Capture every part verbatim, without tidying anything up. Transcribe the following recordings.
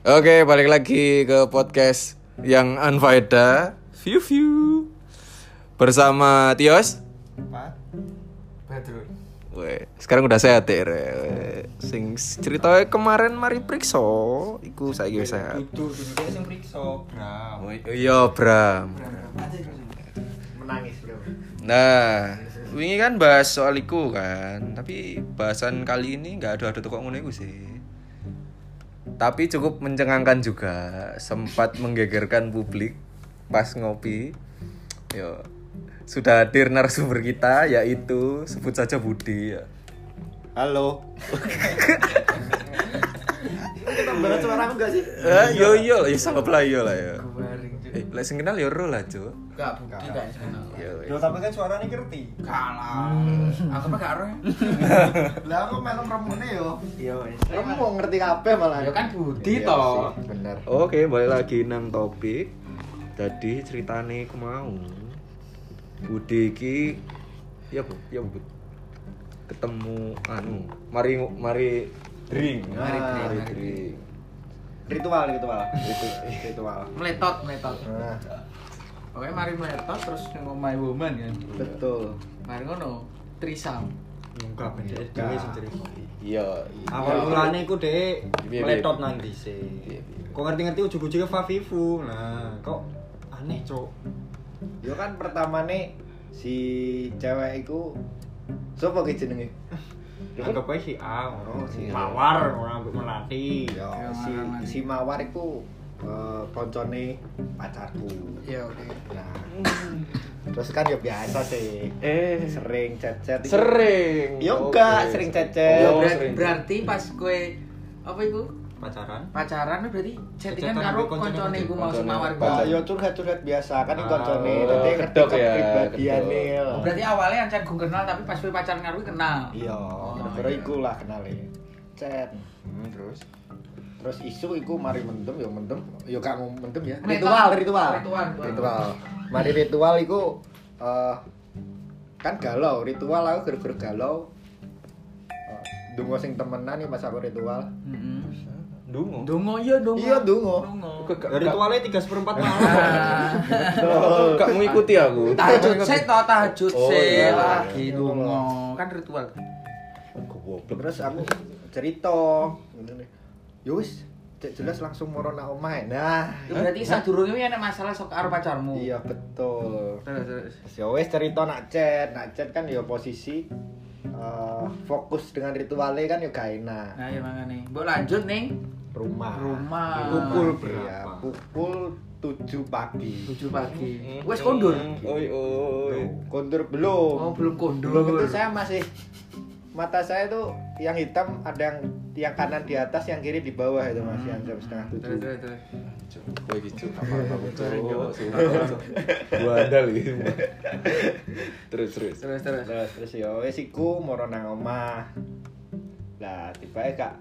Oke, balik lagi ke podcast yang unfaedah. View view. Bersama Tios. Pak Badrul. Weh, sekarang udah sehat ya. Sing ceritanya kemarin mari prikso, iku saiki wis sehat. Dudu, dudu sing priksa, Bram. Oh iya, Bram. Menangis, Bro. Nah, wingi kan bahas soal iku kan, tapi bahasan kali ini enggak ada ada kok ngono iku sih. Tapi cukup mencengangkan juga, sempat menggegerkan publik pas ngopi. Yo, sudah hadir narasumber kita yaitu sebut saja Budi ya. Halo. Kita barat suara aku enggak sih? Eh, yo yo, ya sama lah yo lah ya. Kemarin. Eh, lek sing kenal yo ro lah, Cuk. Enggak, Budi kan kenal. Yo. Yo tapi kan suaranya ngerti. Kalah. Aku mah gak ero. Lah aku melu remune yo. Yo. Kamu mau ngerti kabeh malah. Ya kan Budi toh. Bener. Oke, balik lagi nang topik. Jadi ceritane ku mau. Budi iki ya Bu, ya Bu. Ketemu anu, mari mari drink, Mari drink, mari mari drink. Ritual, ritual. Ritual. Meletot, meletot. Nah, Pokoknya mari meletot terus ngomai woman kan. betul. Mari ngono, trisam. Enggak beda Enggak. dhewe sing cerita. Iya. Awal mulane iku Dek Piye, piye? meletot nang dhisik. Piye, piye? Kok ngerti-ngerti ujug-ujugnya Favivu. Nah, kok aneh, Cuk. Yo kan pertamane si cewek iku sapa ki jenenge? Anggap ae si A, Oh, si A. Mawar ora ambek melati. Yo Ya, si mana-mana. si Mawar iku eh, koncone pacarku. Ya oke. Nah, terus kan ya biasa sih. Eh, Sering chat-chat. iku. sering. Yo enggak, Oke. sering Ya, chat-chat. Oh, ber- sering. berarti pas gue apa itu? Pacaran. Pacaran berarti chattingan Chat-chatan karo ambek koncone koncone iku mau koncone. semawar Nah, gua. yo curhat-curhat biasa kan iki Ah, koncone, oh, dadi ngerti kedok ya, kepribadiane. kedok. Oh, berarti awalnya ancen gue kenal tapi pas gue pacaran karo gue kenal. Iya, Oh, gara-gara iya. iku lah kenale. Chat. Hmm, terus terus isu iku mari mendem yo mendem yo gak mau mendem ya. Meletot. Ritual, ritual. Ritual, ritual. Ritual. Mari ritual iku eh kan galau, ritual aku gara-gara galau. Eh, Dungo sing temenan iki pas aku ritual. Heeh. Dungo. Dongo iya dongo. Iya, dongo. Dongo. Gak- Ya ritualnya tiga seperempat malam. Betul. Gak mengikuti aku. Tahajud sih toh tahajud Oh, sih iya. lagi Iya. dongo kan ritual. Goblok. Terus aku cerita ngene. Yo wis, cek jelas langsung moro nang omahe. Nah, Itu berarti sadurunge iki enek masalah sok karo pacarmu. iya betul. Terus terus. Terus ya wes cerita nak chat, nak chat kan ya posisi eh, fokus dengan ritualnya kan ya gak enak. Nah, ya mangane. Mbok lanjut ning Rumah. rumah. Pukul Iya, berapa? pukul tujuh pagi. tujuh pagi. Wes kondur. Oi oi. Kondur belum. Oh, belum kondur. Belum itu saya masih mata saya tuh yang hitam ada yang yang kanan di atas, yang kiri di bawah itu masih yang jam setengah Terus tujuh. terus terus. Kowe iki Cuk, apa-apa Cuk. Gua andal iki. Terus terus. Terus terus. Terus terus ya wes iku moro nang omah. Lah tiba-tiba kak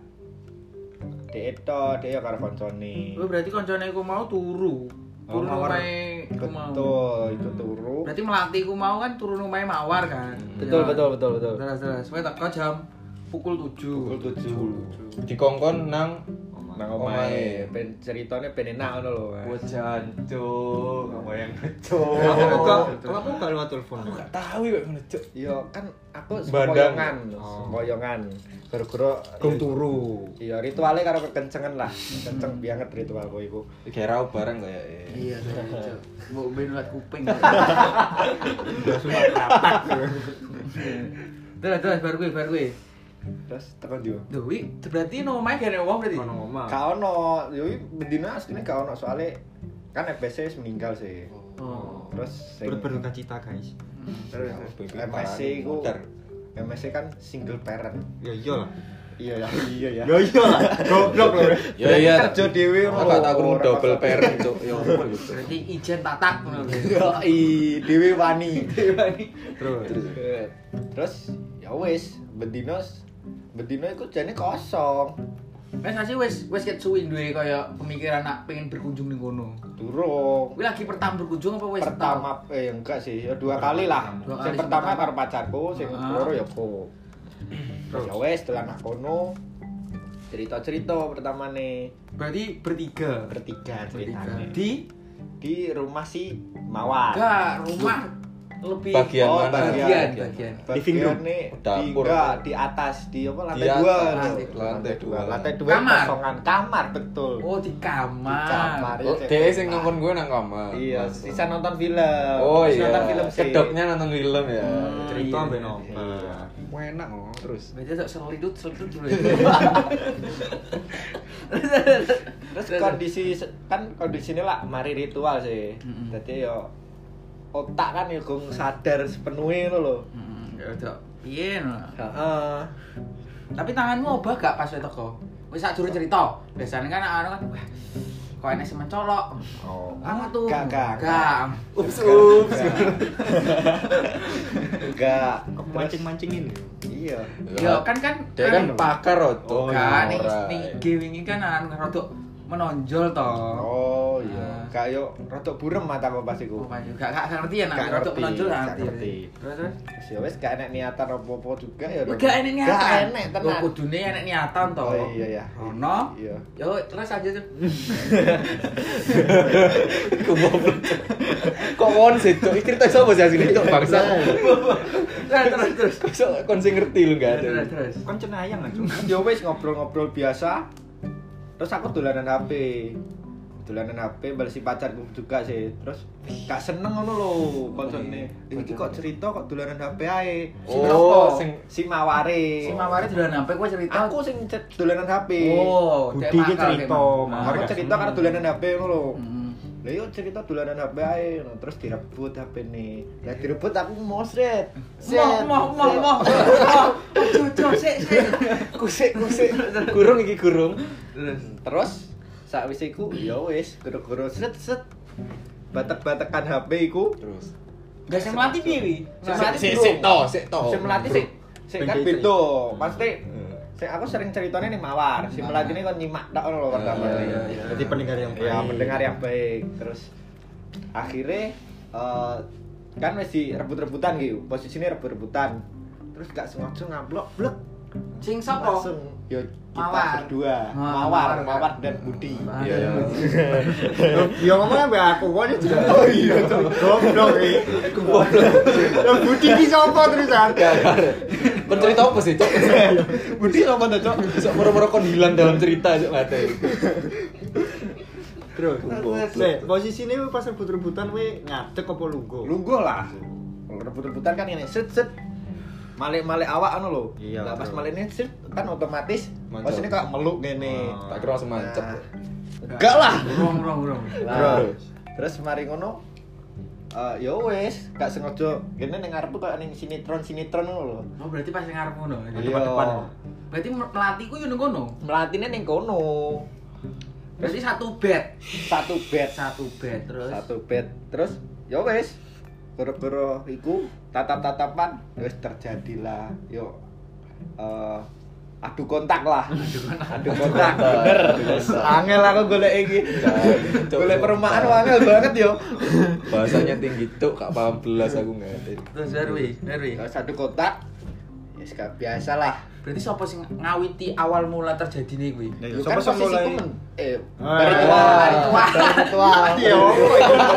Dek itu, dek ya karo koncone. Oh, berarti koncone iku mau turu. Oh, Turu mawar. omahe iku mau. Betul, itu turu. Berarti melati iku mau kan turun omahe mawar kan. Betul, Ya. betul, betul, betul. Terus terus. Kowe teko jam pukul tujuh. Pukul tujuh. Dikongkon nang Nang omahe. omahe, ben ceritane ben enak ngono lho. Mas. Bojan Cuk, kamu yang Cuk. Aku kok kalau aku gak lewat telepon. Aku gak tahu kok ngono Cuk. Iya, kan aku Bandang. sempoyongan, Oh. sempoyongan. Gara-gara Gong turu. Iya, ritualnya karo kekencengan lah. Kenceng banget ritualku iku. Kayak rau bareng kayak. Iya, terus. Mbok ben liwat kuping. Udah sunat katak. Terus terus baru gue baru gue. Terus tekan yo. Duh, wi berarti no omahe gak ada wong berarti. Ono omah. Gak ono, yo bendina asline gak ono soalnya kan F B C wis meninggal sih. Oh. Terus sing Berduka cita, guys. terus M S C iku M S C kan single parent. Ya iyalah. Iya ya, iya ya. Ya iyalah. Goblok lho. Ya iya. Kerja dhewe Aku ngono. gak tak krungu Ora double pas- parent Cuk. Ya ngono gitu. Berarti ijen tatak ngono. Yo i dhewe wani. Terus. Terus ya wis, bendina bendina iku jane kosong. Wes masih wes wes ket suwi duwe kaya pemikiran nak pengen berkunjung ning kono. Durung. Kuwi lagi pertama berkunjung apa wes Pertama eh enggak sih, ya dua kali lah. Dua Sing kali, pertama pertama. karo pacarku, sing Ah. loro ya aku. Terus ya wis dolan nang kono. cerita-cerita pertama nih Berarti bertiga. bertiga Bertiga. ceritanya Di di rumah si Mawar. enggak rumah lebih Bagian Oh, mana? bagian bagian. Living room. nih di Dapur. enggak di atas di apa lantai Di dua atas, loh. lantai dua. lantai dua Kamar? kosongan kamar betul. Oh di kamar. Di kamar. Oh, dia sing ngomong gue nang kamar. Iya, sisa nonton film. Oh Terus iya. nonton film sih. Kedoknya nonton film ya. Hmm. Cerita Iya. ambek nobar. Wah, enak oh. Terus. Berarti tak selidut selidut dulu. Terus kondisi kan kondisinya lah mari ritual sih. Mm-mm. Jadi yo otak kan yo gong sadar sepenuhnya lo loh. Hmm, ya udah. Piye no? Heeh. Tapi tanganmu obah gak pas itu kok? Wis sak durung cerita. Biasanya kan anak kan wah, kok enek sing mencolok. Oh. Apa tuh? Gak, gak, Gak. Ups ups. Enggak. Kok mancing-mancingin? Iya. Ya kan kan Dia kan anu, pakar Roto. Oh, kan ning Ora. ning I G wingi kan anu rodok menonjol to. Oh iya. Ah. Kayak rodok burem mata apa pas iku. Oh, Pak, gak gak gak ngerti ya nak Gak rodok ngerti, menonjol gak gak ngerti. ngerti. Terus terus Terus ya wis gak enek niatan apa-apa juga ya. Wih, gak enek niatan. Gak enek Oh, tenan. kudune enek niatan to. Oh iya ya. Ono. Iya. Yo terus aja tuh. Iku goblok. Kok kon sih, Cuk? Iki cerita sapa sih asline, Cuk? Bangsa. Terus terus terus. Kok kon sing ngerti lu enggak Terus ada. terus. Kan cenayang kan, Cuk. Ya wis ngobrol-ngobrol biasa. Terus aku dolanan H P. Dolanan H P balesi pacarku juga sih. Terus gak seneng ngono lho koncone. Iki kok cerita kok dolanan H P ae. Si Oh, Nopo? sing- si Maware. Si Mawari dolan sampai gua cerita. Aku sing cet- dolanan H P. Oh, Budi cek ki makal, cerita, cek Mawar. makal. Aku cerita karena dolanan H P ngono lho. Mm. Lah yo cerita dolanan H P ae, no. Terus direbut H P nih. Lah direbut aku mosret. Moh moh moh moh. Cucu sik sik. Kusik kusik. Gurung iki gurung. Terus Terus sakwise iku ya wis goro-goro set set batek-batekan H P iku. Terus. gak sing melatih piye wi? Sing melatih Sik bro. sik to, sik to. Sing melatih sik sik kan Ben beda. Pasti Hmm. sing aku sering ceritanya nih Mawar. Si melatih ini kan nyimak tok ngono lho pertama. Iya, iya, iya. Jadi pendengar yang baik. Ya mendengar yang baik. Terus akhirnya eh, kan wis rebut-rebutan gitu. Posisinya rebut-rebutan. Terus gak sengaja ngablok blek. Sing sapa? Langsung yo kita Mawar. berdua. Ah, Mawar, Mawar. Mawar dan Budi. Iya, iya. Ya ngomongnya mbak aku kok juga. Oh iya, Cok. Goblok iki. Ya Budi ki sapa terusan? Gak gak. Kon cerita apa sih, Cok? Budi apa tuh, Cok? Sok moro-moro kon hilang dalam cerita, Cok, ngate. Terus. Nek posisine pas rebut-rebutan we ngadeg apa lungguh? Lungguh lah. Kalau rebut-rebutan kan ini set set malik-malik awak anu lho. Iya, Lah pas betul. maliknya set kan otomatis Mancap. posisinya kayak meluk gini. Oh. Tak kira langsung mancep. Nah, enggak lah. Rong rong rong. Lah, Terus. terus mari ngono eh ya wis, gak sengaja kene ning ngarepku kayak ning sinetron-sinetron ngono lho. Oh berarti pas ning ngarep ngono. Iya. Depan depan. Berarti melatihku yo ning kono. Melatine ning kono. Berarti satu bed. Satu bed, Satu bed terus. satu bed. Terus ya wis. Gara-gara iku tatap-tatapan wis terjadilah yo eh adu kontak lah. Adu kontak. Bener. Angel aku golek iki. Golek perumahan angel banget yo. Bahasanya tinggi tuh, gak paham belas aku nggak. Terus Darwi, Darwi. Terus adu kontak. Ya yes, biasa lah. Berarti sapa sing ngawiti awal mula terjadine kuwi? Ya, Yo sapa kan sing mulai? posisiku men eh Ah, dari iya. ritual, Dari ritual. dari ritual. Iya, opo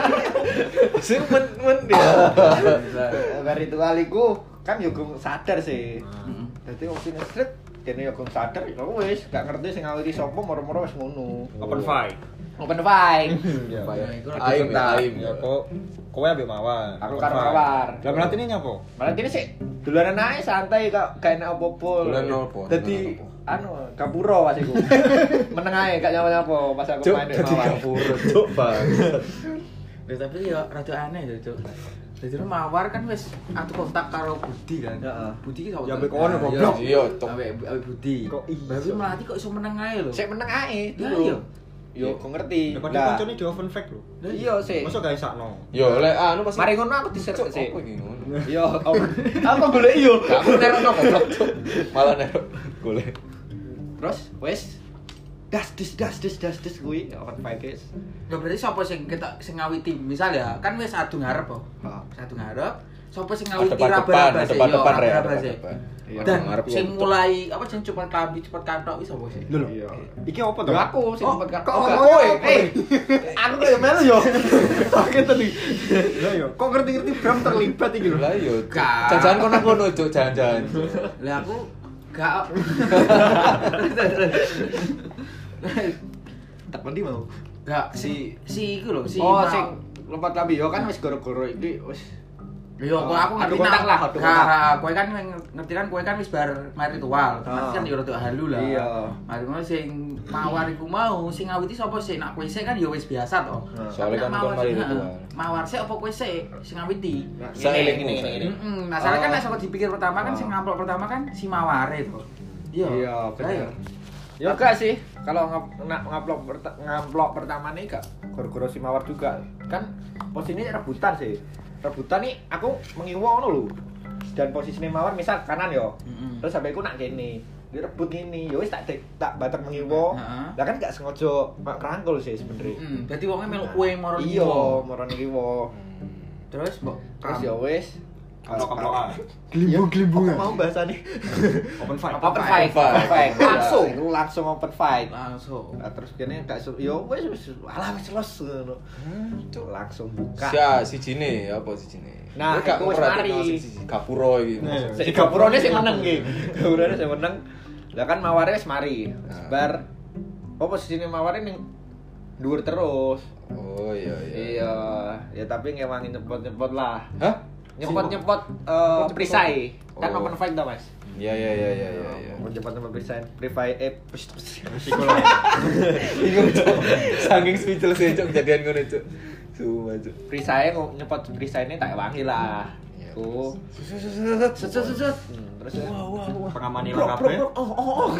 Sing men men dia. Dari ritual iku kan yo gong sadar sih. Heeh. Dadi wong sing stret kene yo gong sadar ya wis gak ngerti sing ngawiti sapa moro-moro wis ngono. Open fight. Open fight. Ya. Apa ya? Iku Aim, ya, aim. Ya kok kowe ambek Mawar. Aku Open karo fight. Mawar. Lah berarti ini nyapa? Malah ini sih dolanan ae santai kok gak enak apa-apa. Dolanan apa? Dadi Dolanan anu kapuro pas iku. Meneng ae gak nyapa-nyapa pas aku Cuk, main di jadi Mawar. kapuro, Cuk, Bang. Ya, tapi ya rada aneh ya, Cuk. Jadi Mawar kan wis atu kontak karo Budi kan. Heeh. Budi ki sapa? Ya, ambek kono, goblok. Iya, Cuk. Ambek ambek Budi. Kok iso? Berarti melatih kok iso meneng ae lho. Sik meneng ae Lah, dulu. iya. Yo kok ngerti. Ya padahal Nah, koncone di open fight lho. Lah, Iya sih. Masa gak isakno? Yo, lek anu pas Mari ngono aku diseret Cuk, sih. apa iki ngono? Yo, aku golek yo. Gak aku nerokno goblok, Cuk. Malah nerok golek. Terus wes das dis das dis das dis kuwi open fight guys. Ya berarti sapa sing kita sing ngawiti? Misal ya, kan wis adu ngarep kok. Heeh. Satu ngarep, Sopo sing ngawiti Depan-depan, raba-raba sih? depan-depan Yo, ya, raba-raba sih. depan-depan. Iya, Dan ngarep sing wong mulai apa sing cepet kambi cepet kantok iki sapa sih? Lho. Iya. Iki apa to? Yo aku sing Oh, sempat kok kok ngomongnya kowe. apa? Eh, aku kaya melu yo. Sakit tadi. Lah yo, kok ngerti-ngerti Bram terlibat iki lho. Lah yo. Gak. Jajan kono kono cuk, jajan. Lah aku gak Tak mandi mau. gak si si iku lho, si Oh, mau- sing lompat lambi yo kan wis goro-goro iki wis. Yo, kok aku Adu ngerti kontak nang- lah, adu Gak, kontak. kowe kan yang- ngerti kan kowe kan wis bar mari ritual. Otomatis Oh. kan yo rada halu lah. Iya. Mari ngono sing mawar iku mau sing ngawiti sapa sih? Nak kowe sik kan yo wis biasa to. Soalnya Tapi kan nak kon mari heeh, ritual. Mawar sik apa kowe sik sing ngawiti? Saeling ini ini. Heeh, masalah kan Oh. nek saka dipikir pertama kan Oh. sing ngamplok pertama kan si maware to. Iya. Iya, Lah, bener. iya. Ya enggak sih, kalau ngap- na- ngaplok perta- ngaplok pertama nih gak goro-goro si mawar juga. Kan posisinya rebutan sih. Rebutan nih aku mengiwo ngono lho. Dan posisinya mawar misal kanan yo. Mm-mm. Terus sampai aku nak kene. Dia rebut gini, ya wis tak dek- tak batak mengiwo. Heeh. Lah kan gak sengaja ngerangkul sih sebenarnya. Heeh, dadi wonge melu kowe moro Iya, moro ngiwo. Terus mbok Terus ya wis Kaplok-kaplokan. Glimbu Glimbu-glimbungan. mau bahasane. Open fight. Open fight, Open open fight. fight. Langsung, itu langsung open fight. langsung. Nah, terus kene gak su- yo wis wis alah wis los ngono. Cuk langsung buka. Sia si jine apa si jine. Nah, Kowe gak iku wis ngerti mari. si Gapuro iki. Nah, Si gapurone sing meneng iki. Gapurone sing meneng. Lah kan maware wis mari. Nah. Bar oh posisine maware ning dhuwur terus. Oh iya iya. Iya, ya tapi ngewangi nyepot-nyepot lah. Hah? Nyepot-nyepot eh perisai. Kan Oh. open fight to, Mas. Iya iya iya iya iya iya. Mau nyepot-nyepot perisai. Perisai eh pus- pus- Psikolog. Bingung cuk. Saking speechless ya cuk kejadian ngono cuk. Sumpah cuk. perisai ngo- nyepot perisaine tak wangi lah. Iya. Ku. Set set set, set. Hmm, terus ya. Pengamani Bro, lah bro, kabeh. bro, oh, oh, oh.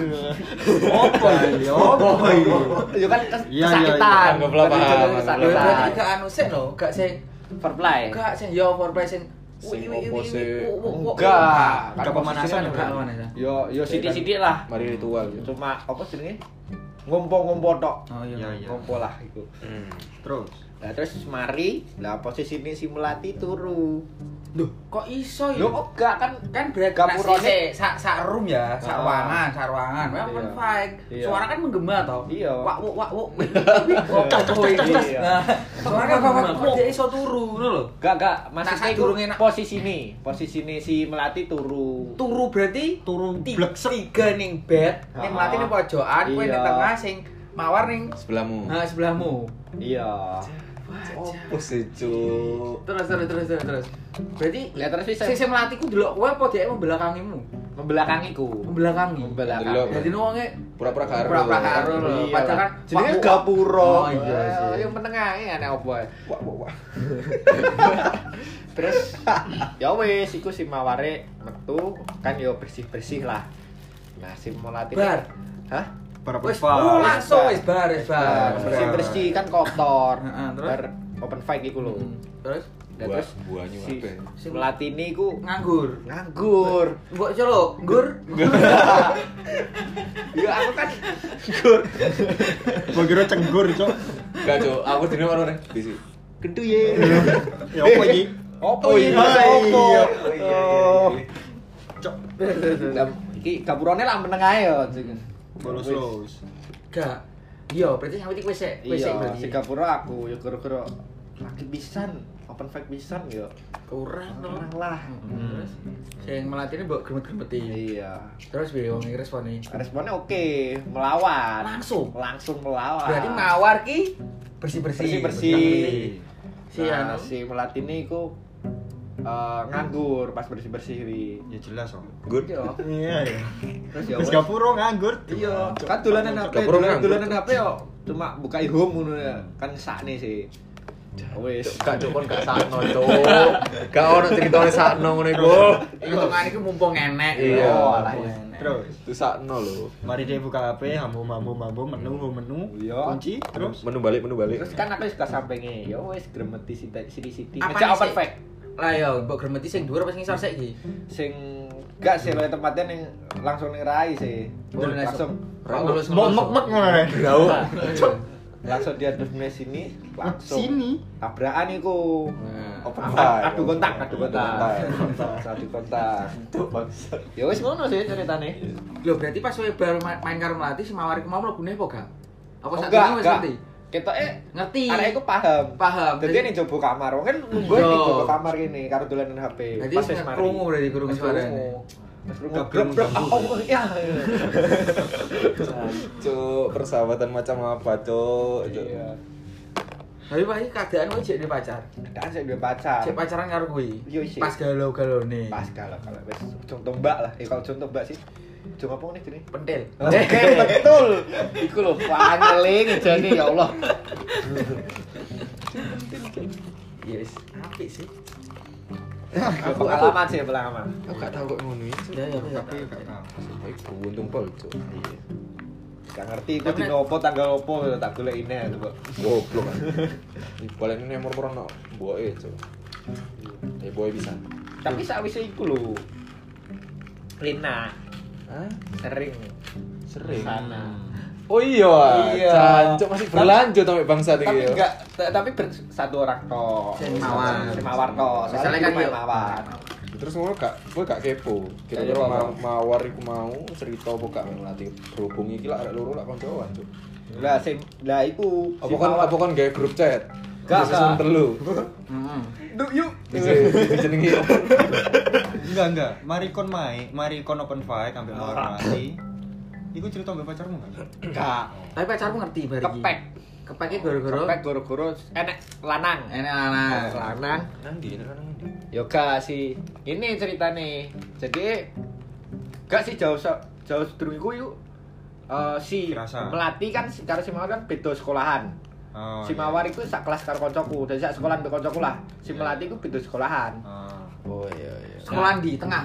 Apa iki? Apa iki? Ya kan kes- Iya, iya, kesakitan. iya. Anggaplah paham, Lho anggaplah Kesakitan. berarti gak anu sik lho, gak sing Foreplay. gak sing yo foreplay sing Sing wi, wi, opo wi, sih? wi, wo, wo, wo. Enggak. Enggak pemanasan Enggak enggak. pemanasan. Yo yo sidik-sidik lah. Mari ritual gitu. Cuma apa jenenge? Ngompo-ngompo tok. Oh iya. Iya, iya. Ngompo lah iku. Hmm. Terus. Lah terus mari, lah posisine si Melati turu. Loh, kok iso ya? Lho kok gak kan Kan berarti Gapurone- nasi sak sak room ya, sak Ah. ruangan, sak ruangan. Wah, open Iya. fight. Iya. Suara kan menggema toh. Iya. Wak wuk wak wuk. Oh, Tas tas tas tas. Iya. Nah, suara kan menggema kok dia iso turu ngono lho. Gak gak Nah, maksudnya saat iku durunge nak- posisine. Posisine si Melati turu. Turu berarti Turu tiga, bleksek. tiga ning bed, ning Ah. Melati ning pojokan, kowe ning Iya. tengah sing mawar ning Sebelahmu. nah sebelahmu. Iya. Opo sih cuk. Terus terus terus terus terus. Berarti Lihat terus bisa sing sing Melati ku delok kowe apa dhek membelakangimu? membelakangiku. Membelakangi. Membelakangi. Delok. Jadi wonge Pura-pura karo. Pura-pura karo lho. Iya Padahal lah. kan jenenge wak- gapuro. Oh iya sih. Eh, Yang meneng ae aneh opo ae. Wah wah wah. Terus ya wis iku si Maware metu kan yo bersih-bersih lah. Nah, si Melati Bar. Hah? Para Wis penumpang. oh, langsung wis bar wis bar. Bersih-bersih kan kotor. Heeh, terus? Bar open fight iku lho. Hmm, Terus Dan Buah- terus buahnya si, apa? si Melati ini ku nganggur. nganggur. Mbok colo, nggur. Ya aku kan nganggur. Gua kira cenggur, Cok. Gak cuk, aku dene karo rek bisi. Gendu ye. Ya apa iki? Opo Oh, iki? iya. Opo? Oh, iya, iya, Oh. iya. Cok. Lah, iki gapurone lah meneng ae yo. Bolos-los. Gak. Iya, berarti ngawiti kowe sik, kowe sik Iya, berarti. si gapura aku yo kira-kira lagi pisan, open fight pisan yo. kurang to. Kurang lah. Hmm. Terus sing melatine mbok gremet-gremeti. Iya. Terus piye wong iki respone? Responnya oke, melawan. Langsung. Langsung melawan. Berarti mawar ki bersih-bersih. bersih-bersih. Si Nah, anu. si Melati ini iku eh, nganggur pas bersih-bersih wi. Ya jelas, Om. Good. Iya. Iya, ya. Terus ya Wis wes. gapuro nganggur. Iya, kan dolanan H P, Gapura dolanan nganggur. dolanan H P yo cuma buka home ngono ya. Kan sakne sih. Wes. Gak cuk kon gak sakno cuk. Gak ono critane sakno ngono iku. Hitungan iki mumpung enek. Iya. Oh, alah, enek. Terus Itu sakno lho. mari dia buka H P, hambu hambu hambu menu menu Iya. kunci terus Menu balik, menu balik. Terus kan aku suka sampinge, ya wes gremeti siti-siti. Apa Ngejak nih, open sih? fight. Lah ya, mbok gremeti sing dhuwur apa sing ngisor sik iki? Sing gak sih lo tempatnya ning langsung ning rai sih. Oh, langsung Ora ngelus mau mek mek ngono. Grau. langsung dia depan sini, langsung Sini. tabrakan iku. Nah, Open adu- fight, adu kontak, adu kontak. kontak. Adu kontak. Ya wis ngono sih ceritane. Lho berarti pas kowe baru ma- main karo Melati si Mawar iku mau mlebune apa gak? Apa Oh, sak enggak, durunge wis enggak. ngerti? Ketoke Ngerti. arek iku paham. Paham. Dadi ning jobo kamar, wong kan nunggu Yo. ning jobo kamar gini karo dolanan H P. Berarti Pas wis wis mari. krungu berarti krungu Wis suarane. krungu. Wis krungu. Gak Brok, brok. krungu. Oh, oh, ya. Cuk, persahabatan macam apa, Cuk? Cuk. Iya. Tapi Pak iki keadaan kowe jek duwe pacar. Dan saya duwe pacar. Cek pacaran karo kowe. Yo, sih. Pas galau-galone. Pas kalau kalau wis contoh mbak lah. Eh kalau contoh mbak sih. Cuma apa nih gini? Pentil. Oke, betul. Iku lho pangeling jane ya Allah. Yes, apik sih. Aku pengalaman sih, pengalaman. Aku gak tahu kok ngono iki. Ya ya ya. Tapi gak tahu. Aku beruntung pol, Cuk. Iya. Gak ngerti iku dino opo tanggal opo tak golekine coba. Goblok kan. Balik ini nomor pernah boy Cuk. Eh boy bisa. Tapi sakwise iku lho. Lina Hah? sering Sering. sana. Oh iya, Iya. Jancuk masih berlanjut sampai bangsa Tapi iki. enggak, t- tapi ber- satu orang toh. Si Mawar. Si Mawar toh. Misalnya kan main yo. Mawar. Terus ngono gak, kowe gak kepo. Kira-kira Kepo ma- apa? mawar iku mau cerita apa gak melatih berhubung iki lak arek loro lak koncoan, Cuk. Lah sing lah iku Apa kan apa kan gawe grup chat? Gak, Terus season gak. telu. Heeh. Duh, yuk. Bisa dijenengi apa? Enggak, enggak. Mari kon main, mari kon open fight sampai mau Ah. mati. Iku cerita mbek pacarmu enggak? Enggak. Tapi pacarmu ngerti bar iki. Kepek. Kepeknya gara-gara Kepek goro-goro enek lanang. enek lanang. Lanang. Nang ndi nang ndi? Yoga sih. Ini ceritane. Jadi gak sih jauh se- jauh sedurung iku yuk. Eh si Kerasa. Melati kan si- karo si Mawar kan beda sekolahan. Oh. Si iya. Mawar iku sak kelas karo koncoku, dadi sak sekolahan mbek koncoku lah. Si Iya. Melati iku beda sekolahan. Oh. Oh iya iya. Sekolah di tengah.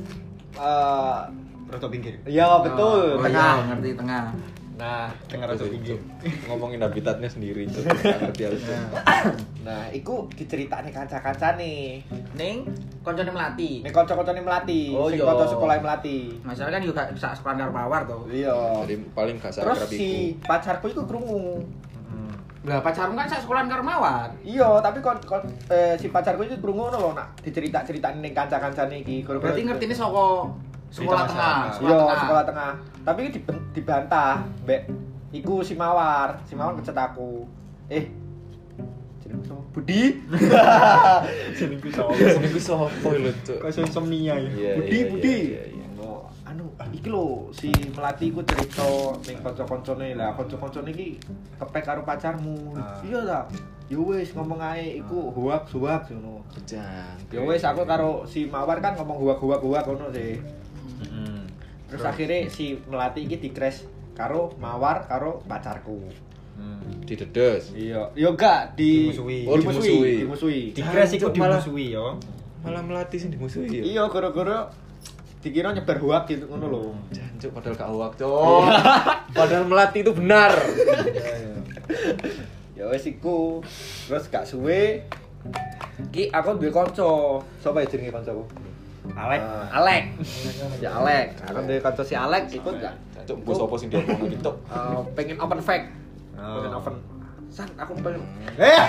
Eh Roto pinggir. iya betul, Oh, tengah. iya, ngerti tengah. Nah, Tengah roto pinggir. Ngomongin habitatnya sendiri, Cuk. Gak ngerti aku. Cuk. nah iku diceritakne kanca-kancane. Ning koncone Melati. Nek kanca-kancane Melati, Oh, sing iya. kanca sekolah Melati. Masalah kan juga sak sekolah karo Mawar to. Iya. Jadi paling gak Terus sakrab iku. si pacarku iku krungu. Hmm. Lah pacarmu kan sak sekolah karo Mawar. Iya, tapi kon, kon eh, si pacarku itu krungu ngono lho nak dicerita-ceritani ning kanca-kancane iki. Gara-gara- Berarti ngertine saka sekolah Cerita tengah, masyarakat. sekolah Iya, tengah. sekolah tengah. Tapi iki diben- dibantah, Mbak. Iku si Mawar, si Mawar ngecet aku. Eh, jenengku sapa? Budi. Jenengku sapa? Jenengku sopo lho, Cuk? Kok iso insomnia ya? Iya, Budi, iya, Budi. iya, iya. Oh, anu, iki lho si Melati iku cerita ning kanca-kancane lah, kanca-kancane iki kepek karo pacarmu. Ah. Iya ta? Ya wis ngomong ae iku hoak-hoak ngono. Jang. Ya wis aku karo si Mawar kan ngomong hoak-hoak ngono sih. Heeh. Terus akhirnya si Melati iki di-crash karo Mawar karo pacarku. Hmm. Didedes. Iya, yo gak di Dimusuhi. Oh, dimusuhi. dimusuhi. Di crash iku Jancuk, malah- dimusuhi yo. Malah melatih sing dimusuhi ya. Iya, gara-gara dikira nyebar hoak gitu ngono lho. Jancuk padahal gak hoak, Cuk. Padahal melatih itu benar. Iya, iya. Ya wis iku. Terus gak suwe ki aku duwe kanca. Sapa ya jenenge kancaku? Alek. Eh, Alek. Ya Alek. Aku duwe kanca si Alek ikut gak? Jancuk mbok sapa sing diomongno gitu. Eh, pengen open fact. Oh. Pengen open. San, aku pengen. Eh.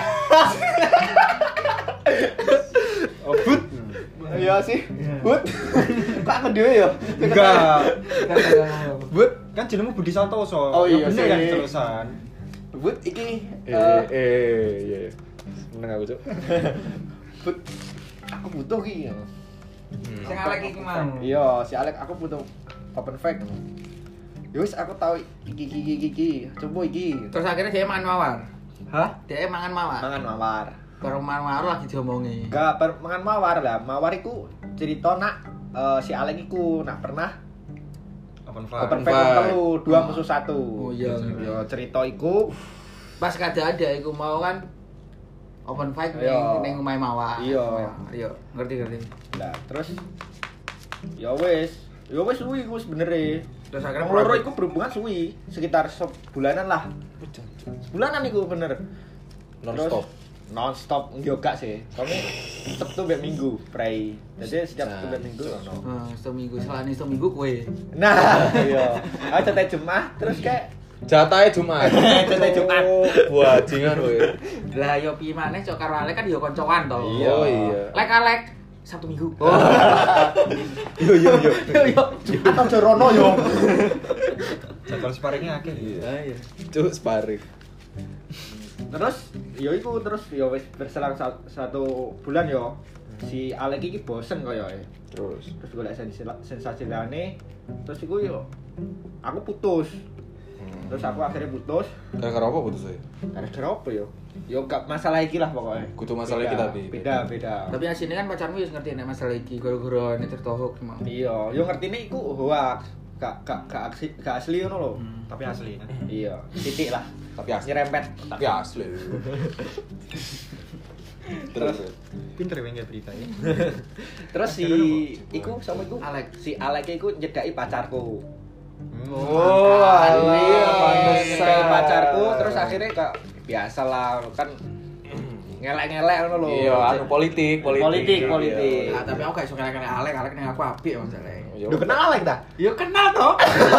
Oh, but. Iya sih. But. Kok aku dhewe ya? Enggak. But. Kan jenengmu Budi Santoso. Oh, iya Ya bener sih. kan terusan. But iki Eh eh, eh iya. Seneng aku, Cuk. but aku butuh ki. Hmm. Sing Alek iki mang. Iya, si Alek aku butuh open fact. Yus aku tahu iki iki iki iki. Coba iki. Terus akhirnya dia mangan Mawar. Hah? Dia mangan Mawar. Mangan mawar. Baru mangan Mawar lagi diomongi. Enggak, per, mangan mawar lah. Mawar iku cerita nak eh, si Alek iku nak pernah Open fight. open fight. fact telu, dua musuh satu. Oh, iya. Yo cerita iku Pas kada ada iku mau kan open fight ning Iya. ning omahe Mawar. Iya. Iya, ngerti ngerti. lah terus ya wis, ya wis suwi iku sebenere. Terus akhirnya Wong loro private. iku berhubungan suwi, sekitar sebulanan lah. Sebulanan iku bener. Non-stop. Terus, non-stop yo gak sih. Kami Sabtu mbek Minggu pray. Jadi setiap Sabtu mbek Minggu ono. Nah, seminggu selani seminggu kowe. Nah, iya. Aku cetek Jumat terus kayak Jatahnya Jumat. Jatahnya Jumat. Bajingan kowe. Lah yo piye maneh cok karo Alek kan yo koncoan to. Oh iya. Lek-alek Sabtu Minggu. Yo yo yo. Yo yo. Atau Jorono yo. Jadwal sparingnya akeh. Iya. Cuk sparring. Terus yo iku terus yo wis berselang sa- satu bulan yo. Si Alek iki bosen koyo e. Terus Terus golek sensasi sensasi lane. Terus iku yo aku putus. Terus aku akhirnya putus. gara-gara apa putus saya? Gara-gara apa yo? Yo gak masalah iki lah pokoknya. Kudu masalah Beda, iki tapi. Beda, beda. Tapi asine kan pacarmu wis ngerti nek masalah iki gara-gara nek cerita hoax emang. Iya, yo ngertine iku hoax. Gak gak gak asli, gak asli ngono lho. Tapi asli kan. Iya, titik lah. Tapi asli. Nyerempet. Tapi asli. Terus Pinter ya nggak berita ya. Terus si iku sama iku Alek. si Alek iku nyedaki pacarku. Oh, iya, Nyedaki pantesan. pacarku terus akhirnya kak biasa lah kan ngelek-ngelek ngono lho. Iya, anu politik, politik. Politik, politik. Nah, tapi aku gak iso kene-kene Alek, Alek ning aku apik masalahnya. Lu kenal Alek ta? Yo kenal toh.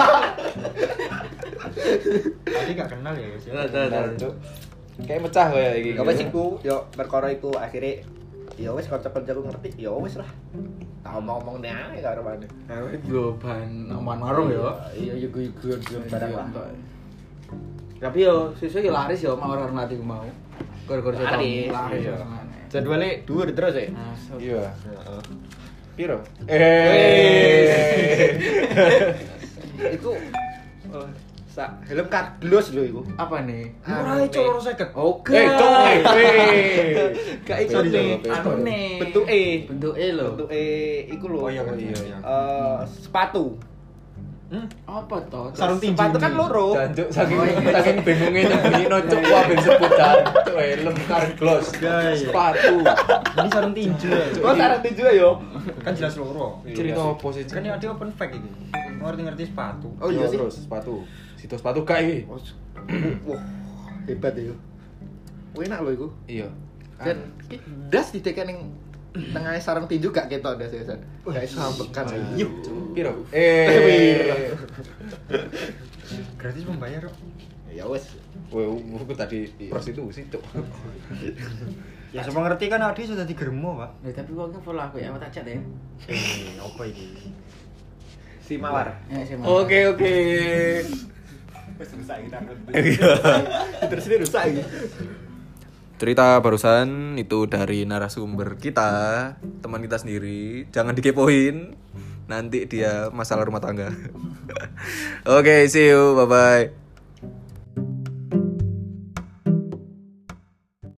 Tadi nggak kenal ya guys. ya. Kayak mecah kayak iki. Gak wis iku, yo perkara iku akhirnya yo wis kanca-kancaku ngerti, yo wis lah. Tak omong-omong nih ae karo mana. Yo ban omongan warung yo. Iya, yo guyon-guyon barang lah. Tapi yo sesuk yo laris yo mau ora nanti mau. Gara-gara cerita Laris, laris iya. yo. Jadwalnya dhuwur terus ya. Nah, so- Iya. Heeh. Piro? Eh. Iku oh, sa helm kardus lho iku. apa nih? Ora iso loro seket. Oke. Eh, cok eh. Gak iso Sorry, nih. sorry, Anu sorry. nih. Bentuke. Bentuke lho. Bentuke iku lho. Oh iya kan iya, iya. iya. Eh, sepatu. Hmm? Apa toh? Sarung tinju. Sepatu kan loro. Jancuk saking Oh, iya. saking bingungnya nyembunyi nocok wah ben sebut jancuk helm kardus. Iya, iya. Sepatu. Ini sarung tinju ya. Oh, sarung tinju ya, yo. Kan jelas loro. Cerita apa sih? Kan yang ada open pack ini. Ngerti-ngerti sepatu. Oh iya sih. Terus sepatu. Situ sepatu gak iki? Oh, wah, hebat ya. Enak lho iku. Iya. Dan ki das ditekan ning tengah sarung tinju gak ketok das ya. Gak iso sambekan. Yuk. Piro? Eh. Gratis membayar kok. Ya wes. Wah, aku tadi prostitusi cuk. Ya semua ngerti kan Adi sudah digermo, Pak. Nah, tapi kok nggak follow aku ya, aku tak chat ya. Eh, apa ini? Si Mawar. Ya, saya mau. Oke, oke. Wes rusak iki takut. Iya. Terus ini rusak iki. Cerita barusan itu dari narasumber kita, teman kita sendiri. Jangan dikepoin. Nanti dia masalah rumah tangga. Oke, see you. Bye bye.